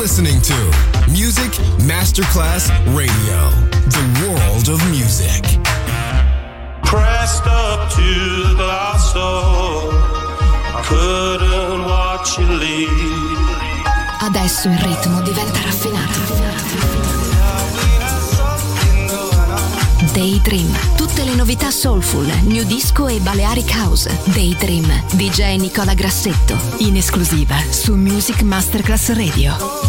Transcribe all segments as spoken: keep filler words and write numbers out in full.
listening to Music Masterclass Radio, the world of music. Pressed up to the glass door, I couldn't watch you leave. Adesso il ritmo diventa raffinato. Daydream, tutte le novità soulful, new disco e Balearic House. Daydream, D J Nicola Grassetto, in esclusiva su Music Masterclass Radio.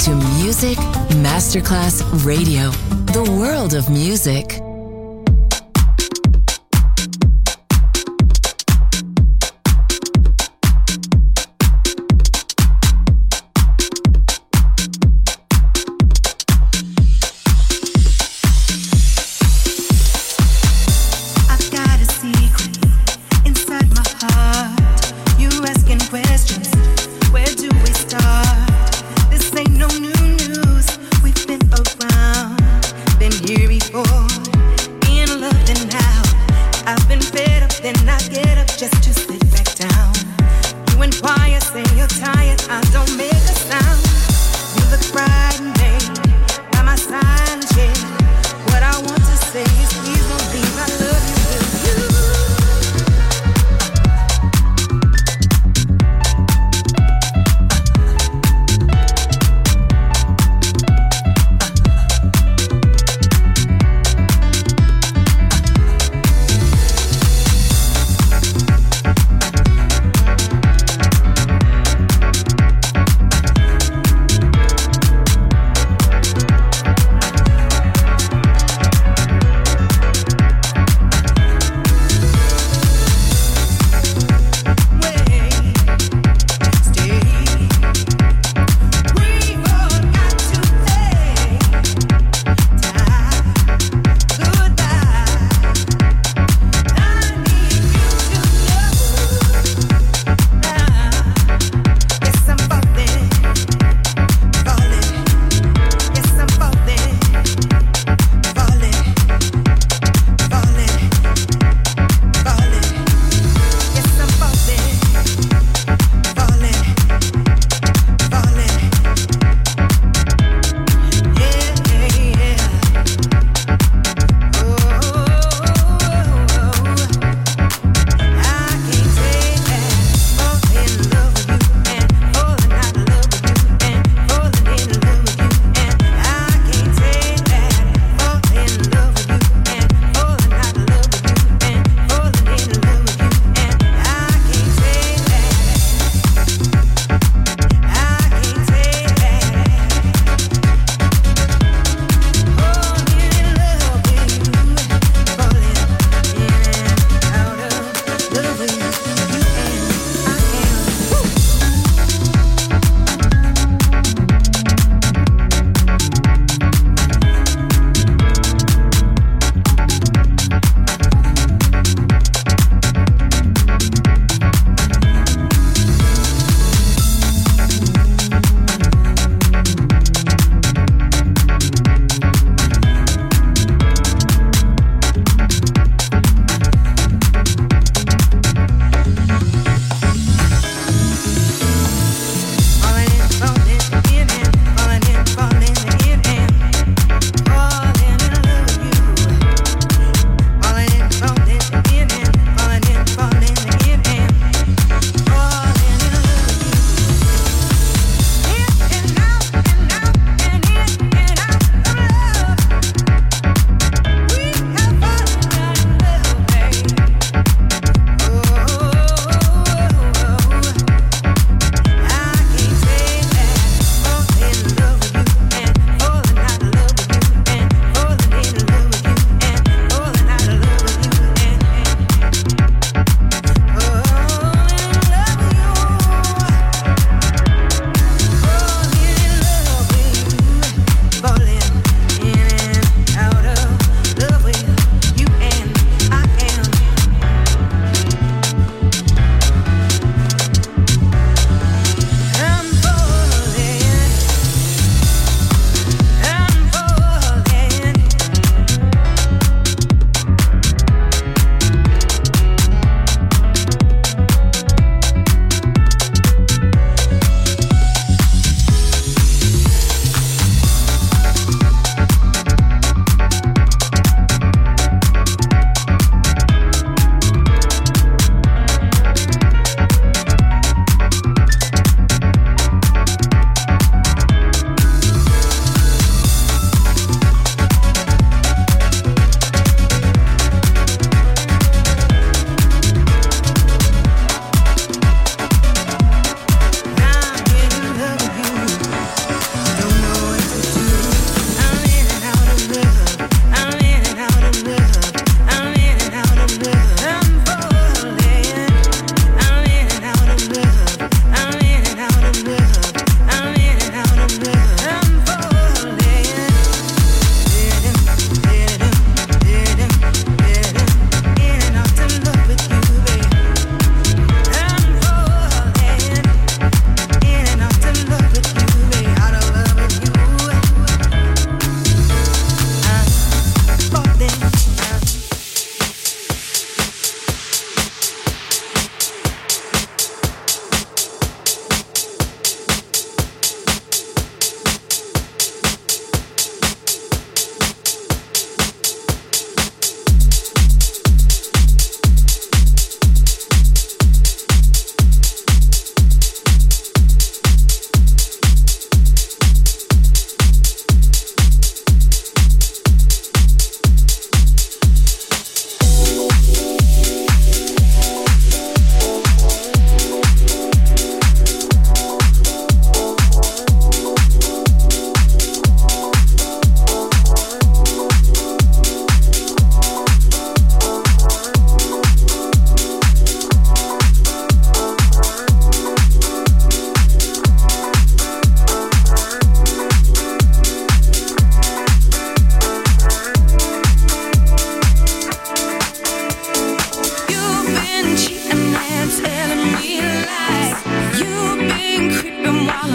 to Music Masterclass Radio, the world of music.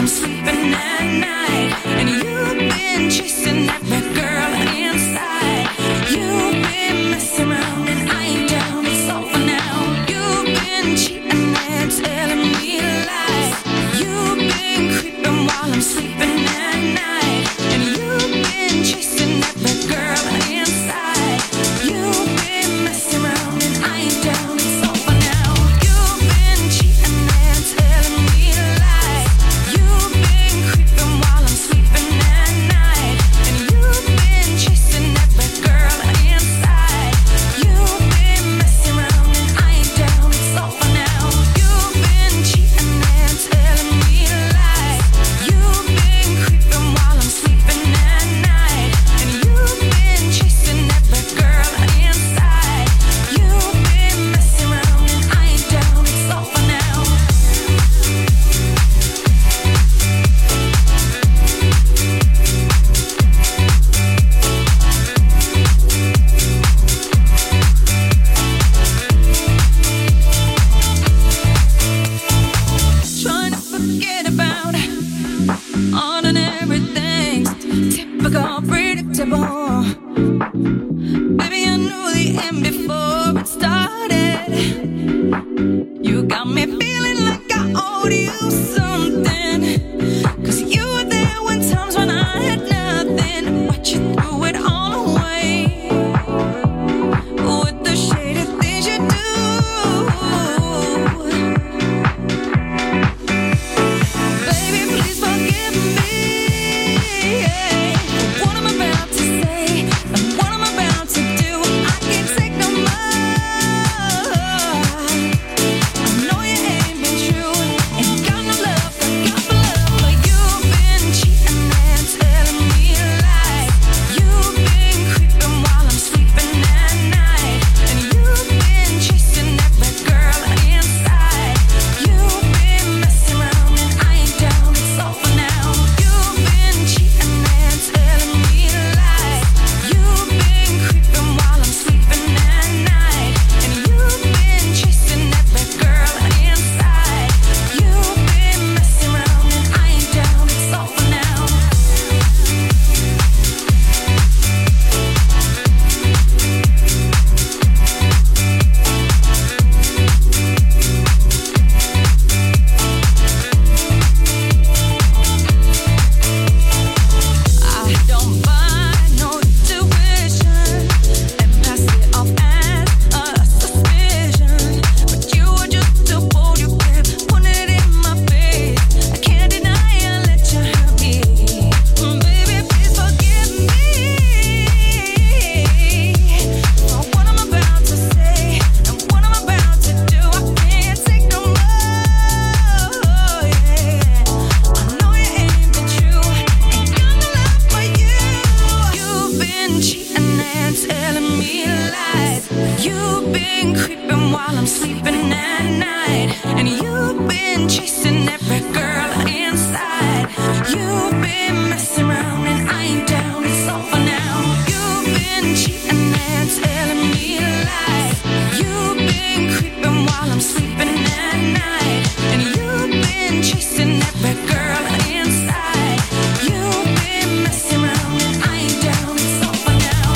I'm sleeping at night. And you've been chasing every girl inside. You've been messing around and I ain't down, it's over now. You've been cheating and telling me lies. You've been creeping while I'm sleeping at night. And you've been chasing every girl inside. You've been messing around and I ain't down, it's over now. You've been cheating and telling me lies. You've been creeping while I'm sleeping at night. And you've been chasing every girl inside. You've been messing around and I ain't down, it's over now. You've been cheating and telling me lies. You've been creeping while I'm sleeping at night. And you've been chasing every girl inside. You've been messing around and I ain't down, it's over now. Trying to forget about ordinary things, typical, predictable. Baby, I knew the end before it started. You got me feeling like I owed you something. Cause you were there when times when I had nothing. But you threw it all away with the shady things you do. Baby, please forgive me for what I'm about to say and what I'm about to do. I can't take no more. I know you ain't been true, ain't got no love, got got love, but you've been cheating and telling me lies. You've been creeping while I'm sleeping at night, and you've been chasing every girl inside. You've been messing around and I ain't down, it's over now. You've been cheating and telling me lies. You've been creeping while I'm sleeping at night, and you've been chasing every girl inside. You've been messing around and I ain't down, it's over now. I don't buy no tuition and pass it off as a suspicion. But you were just too bold, you kept putting it in my face. I can't deny I let you hurt me. Baby, please forgive me for what I'm about to say and what I'm about to do. I can't take no more. Yeah. I know you ain't been true, ain't got no love for you. You've been cheating and telling me lies. You've been creeping while I'm sleeping at night, and you've been chasing every girl inside. You've been messing around and I ain't down, it's over now. You've been cheating and telling me lies. You've been creeping while I'm sleeping at night, and you've been chasing every girl inside. You've been messing around and I ain't down, it's over now.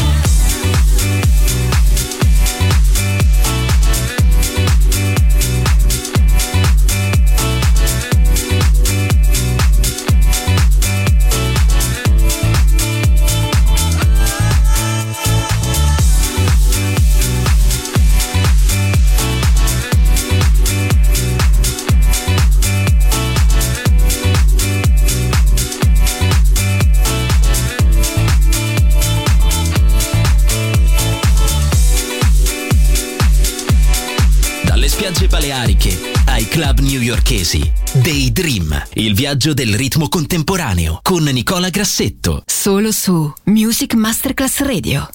Dalle spiagge baleariche ai club newyorkesi. Daydream, il viaggio del ritmo contemporaneo con Nicola Grassetto. Solo su Music Masterclass Radio.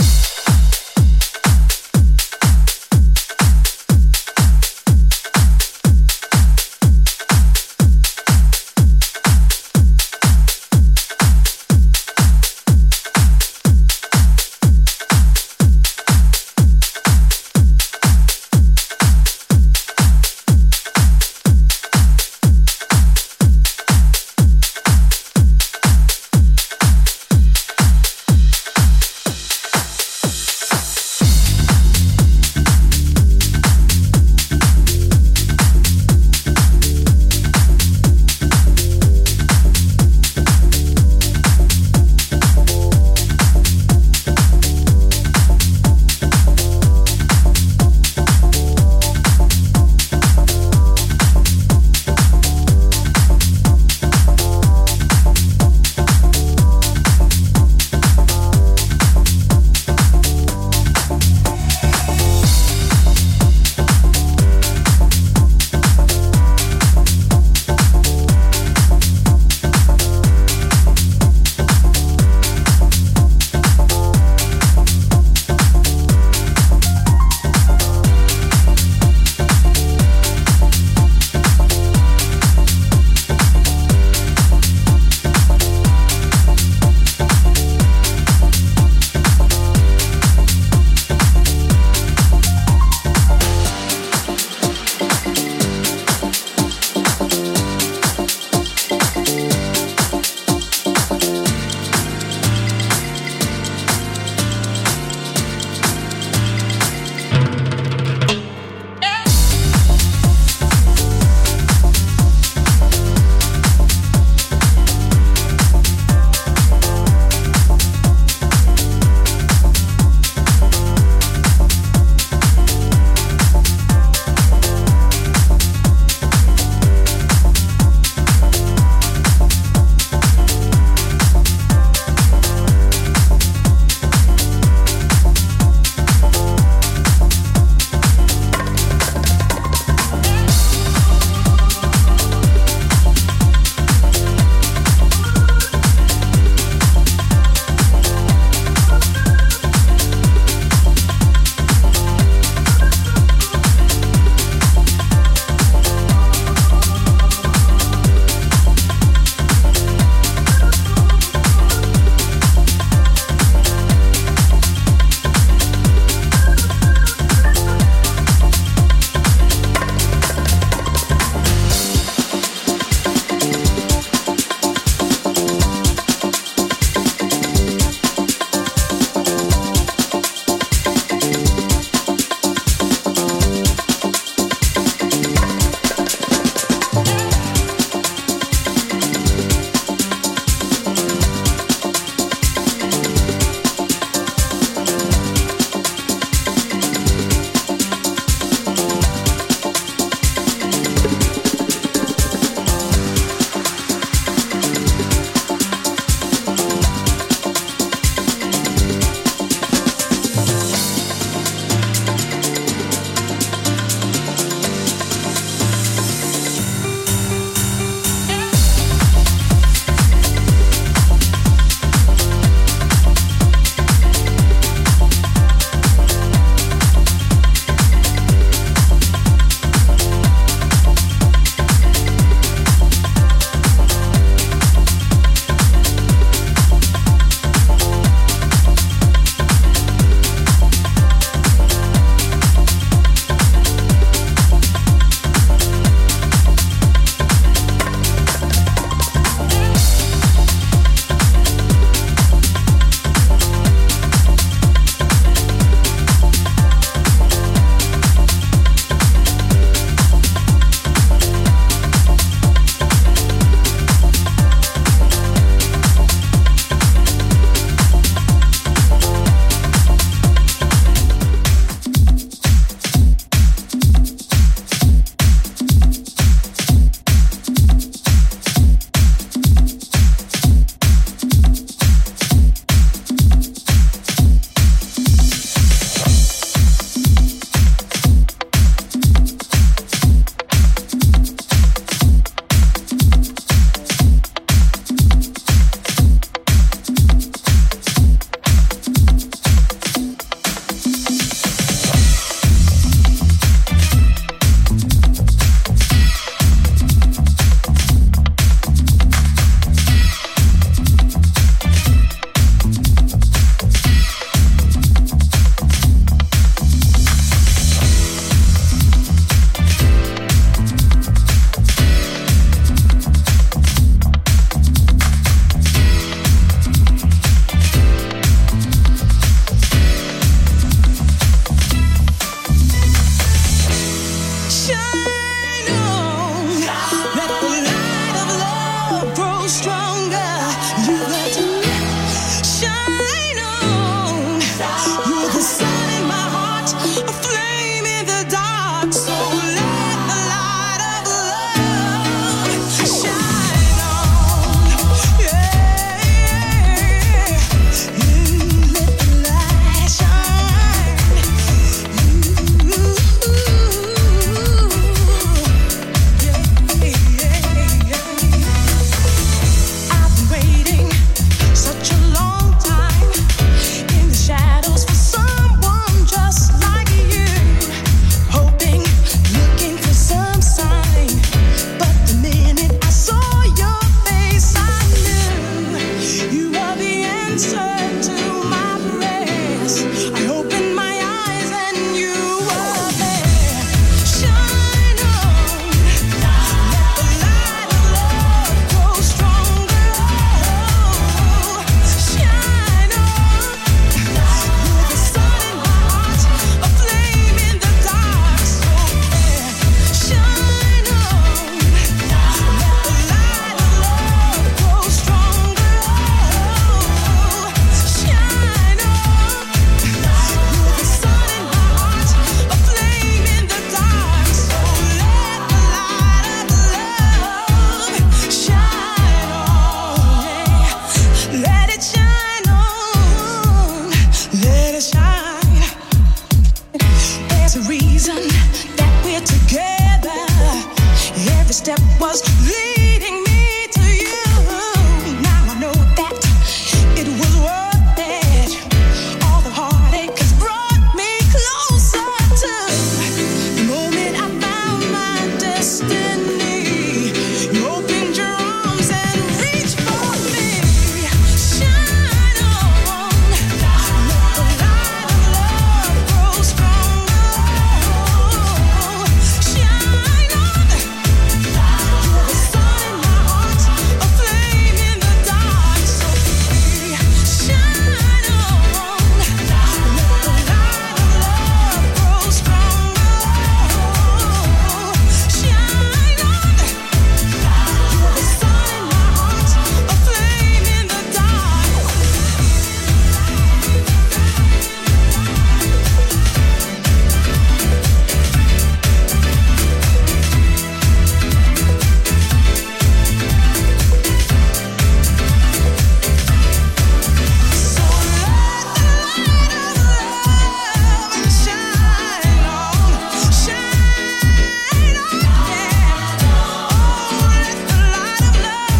There's a reason that we're together. Every step was leading me to you. Now I know that it was worth it. All the heartache has brought me closer to the moment I found my destiny. You opened your arms and reached for me. Shine on, let the light of love grow stronger. Shine on, you're the sun in my heart, a flame in the dark. So free. Shine on, let the light of love grow stronger. Shine on, you're the sun in my heart, a flame in the dark. So let the light of love shine on, shine on, yeah. Oh, let the light of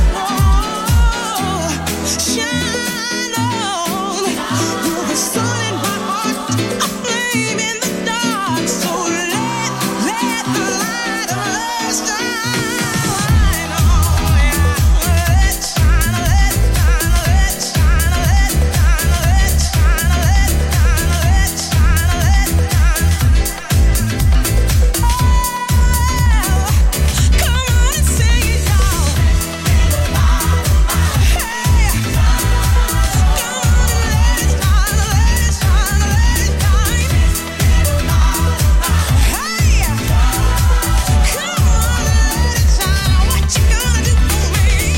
love shine on. You're the sun in my heart, a flame in the dark. So let, let the light of love shine on, yeah. Let shine, let shine, let shine, let shine, let shine, let shine, let shine, let shine. Come on and sing it, y'all. Hey, come on and let it shine, let it shine, let it shine. Hey, come on and let it shine. What you gonna do for me?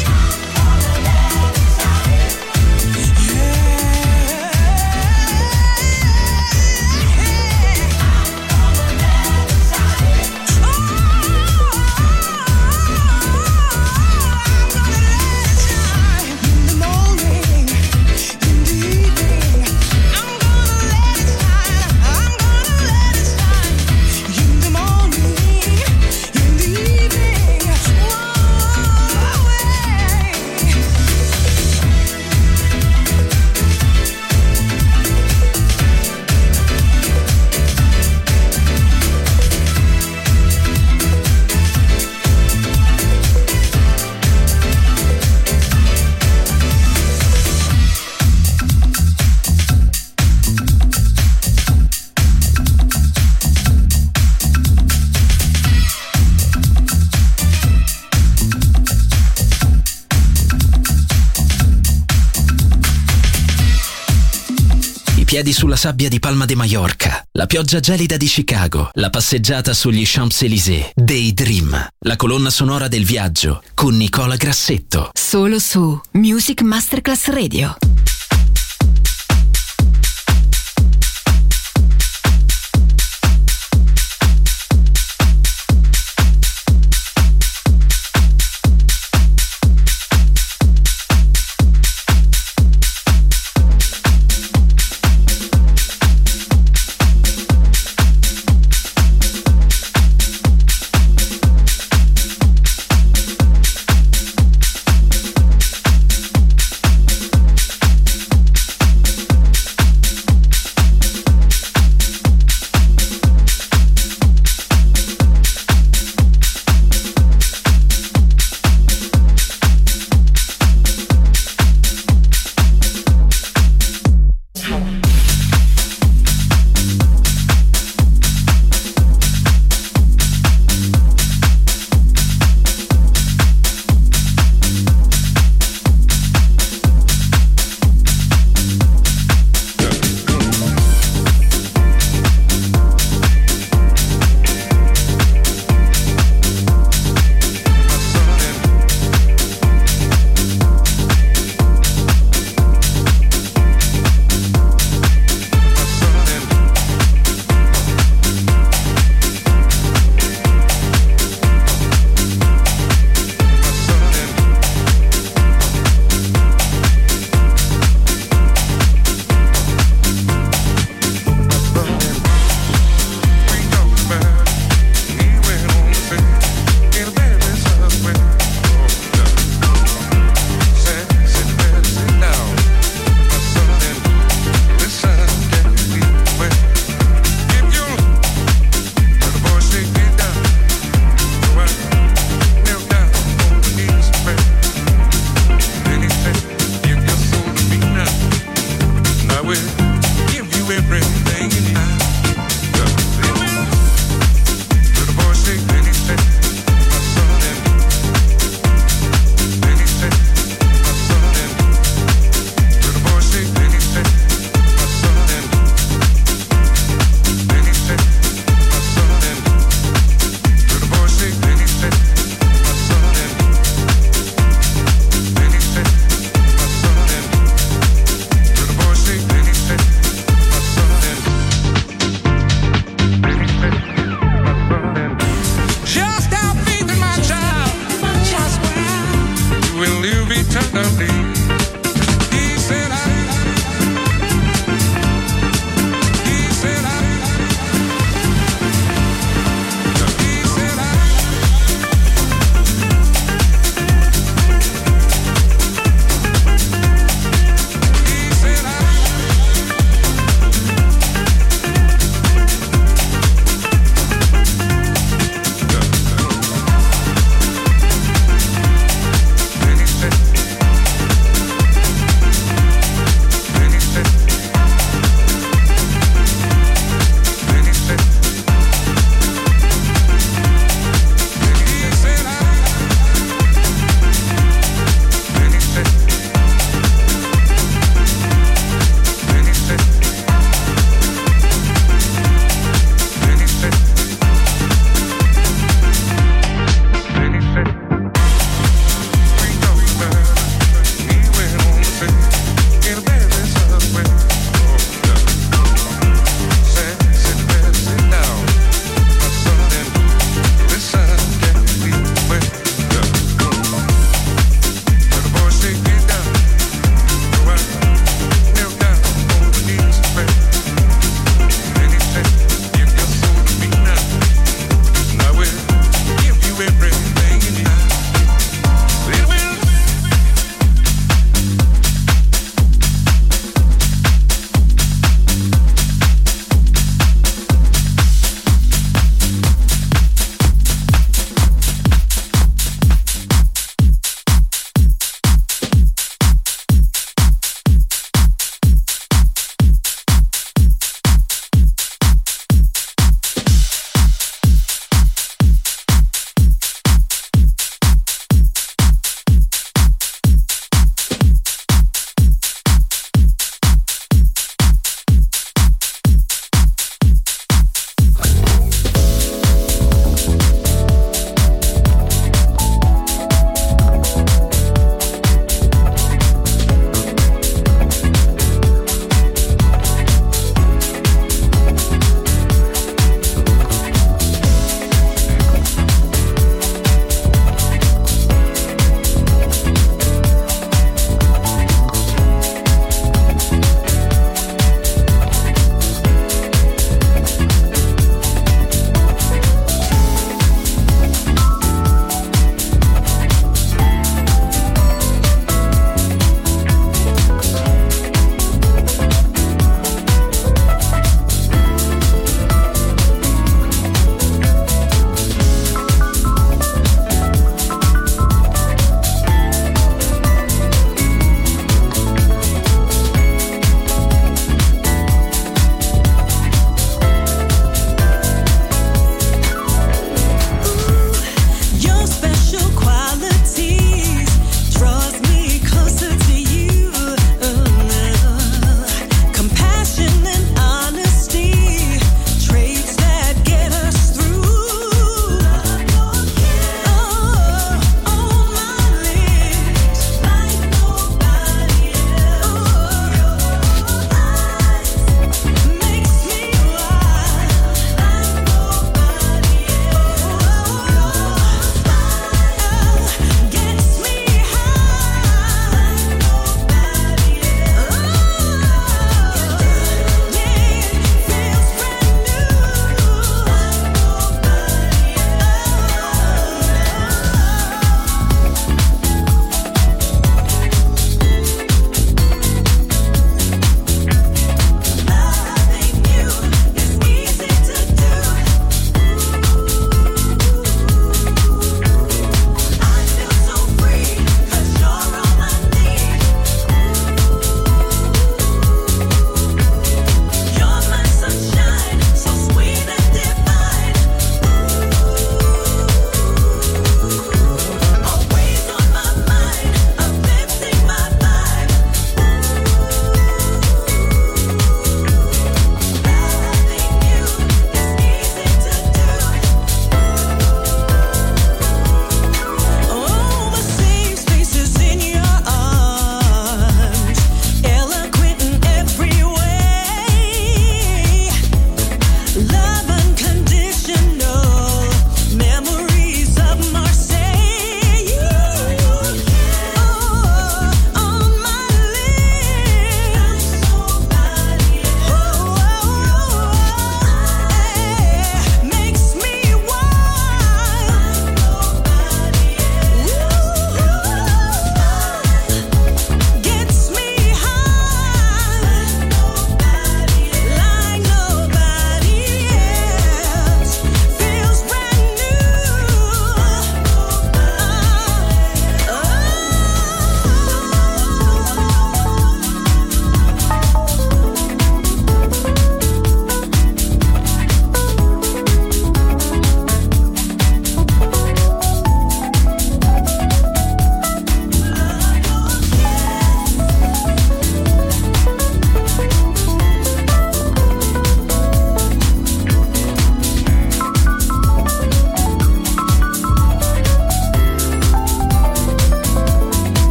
I piedi sulla sabbia di Palma de Mallorca, la pioggia gelida di Chicago, la passeggiata sugli Champs-Élysées, Daydream, la colonna sonora del viaggio con Nicola Grassetto. Solo su Music Masterclass Radio.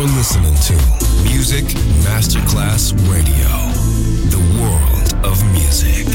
You're listening to Music Masterclass Radio, the world of music.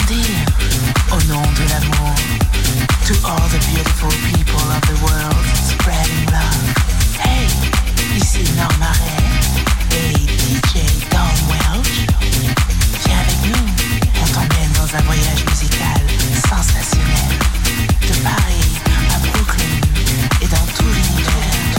dire au nom de l'amour. To all the beautiful people of the world, spreading love. Hey, ici Norma Ray et D J Don Welch. Viens avec nous, on t'emmène dans un voyage musical sensationnel. De Paris à Brooklyn et dans tout l'univers.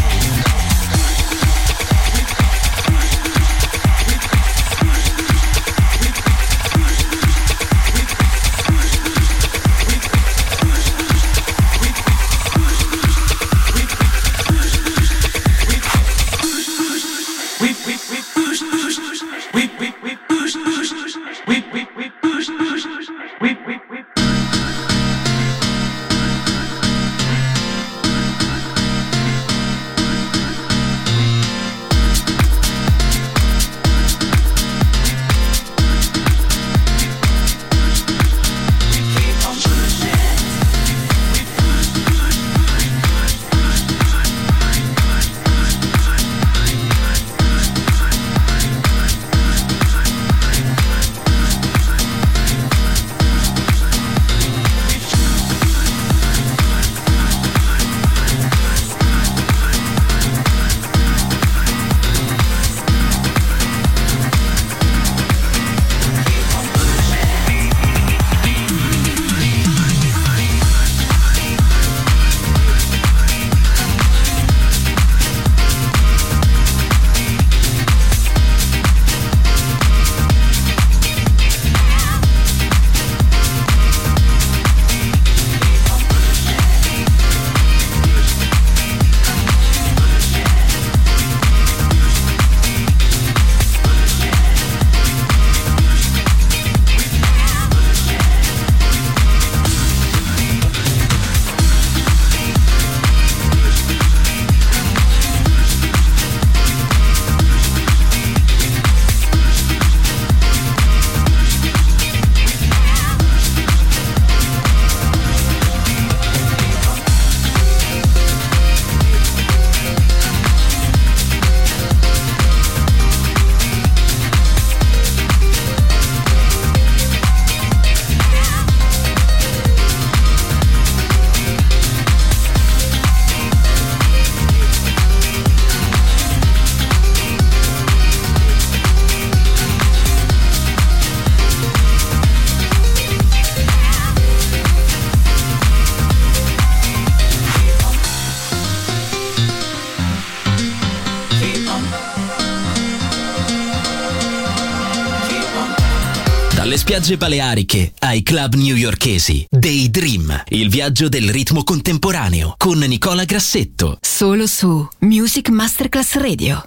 Dalle spiagge baleariche ai club newyorkesi. Daydream, il viaggio del ritmo contemporaneo con Nicola Grassetto. Solo su Music Masterclass Radio.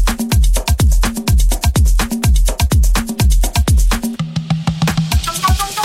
We'll be right back.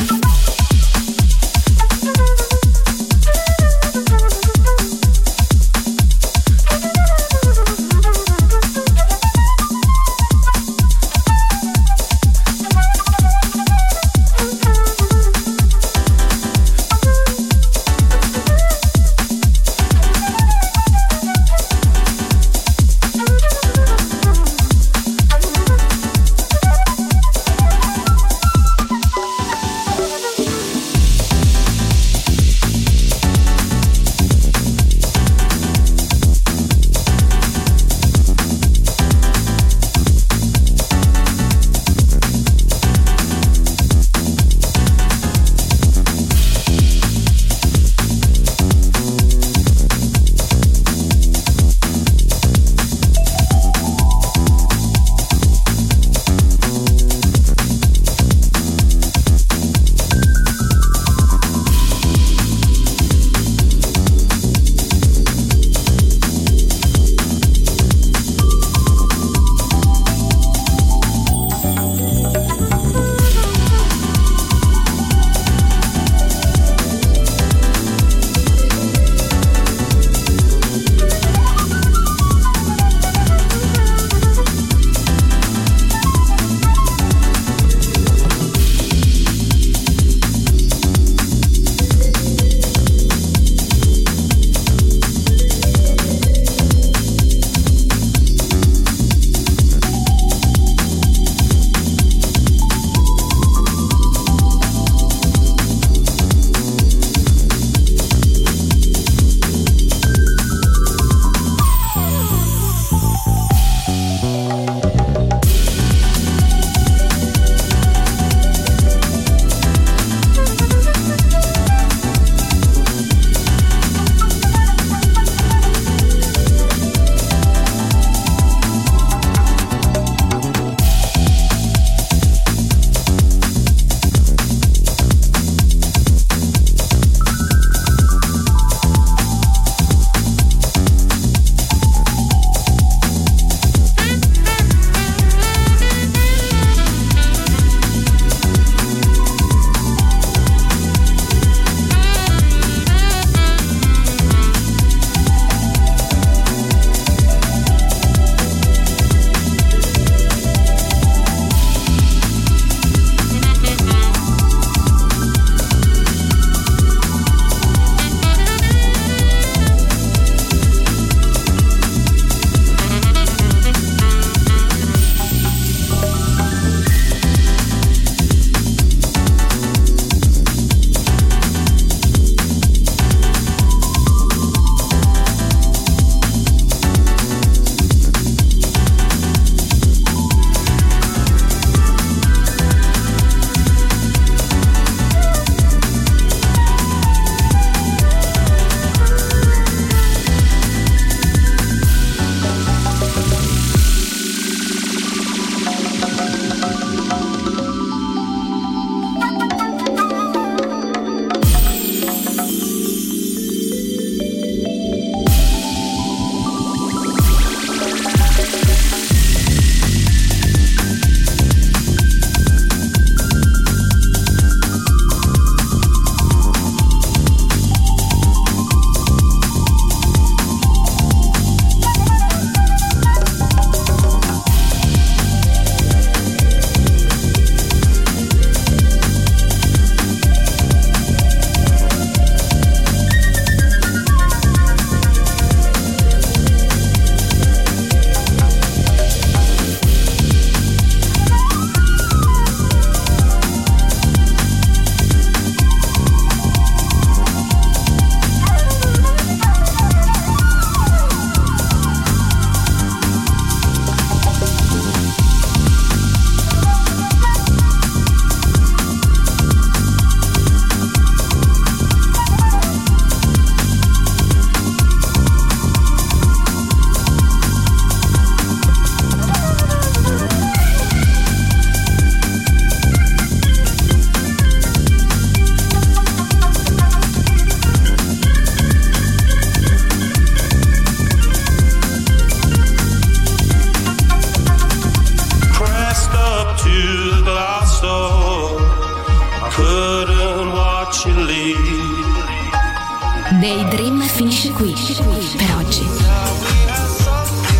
to the glass door. I couldn't watch you leave. Daydream finisce qui per oggi,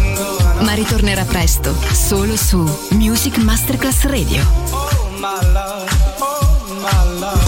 ma ritornerà presto solo su Music Masterclass Radio. Oh my love.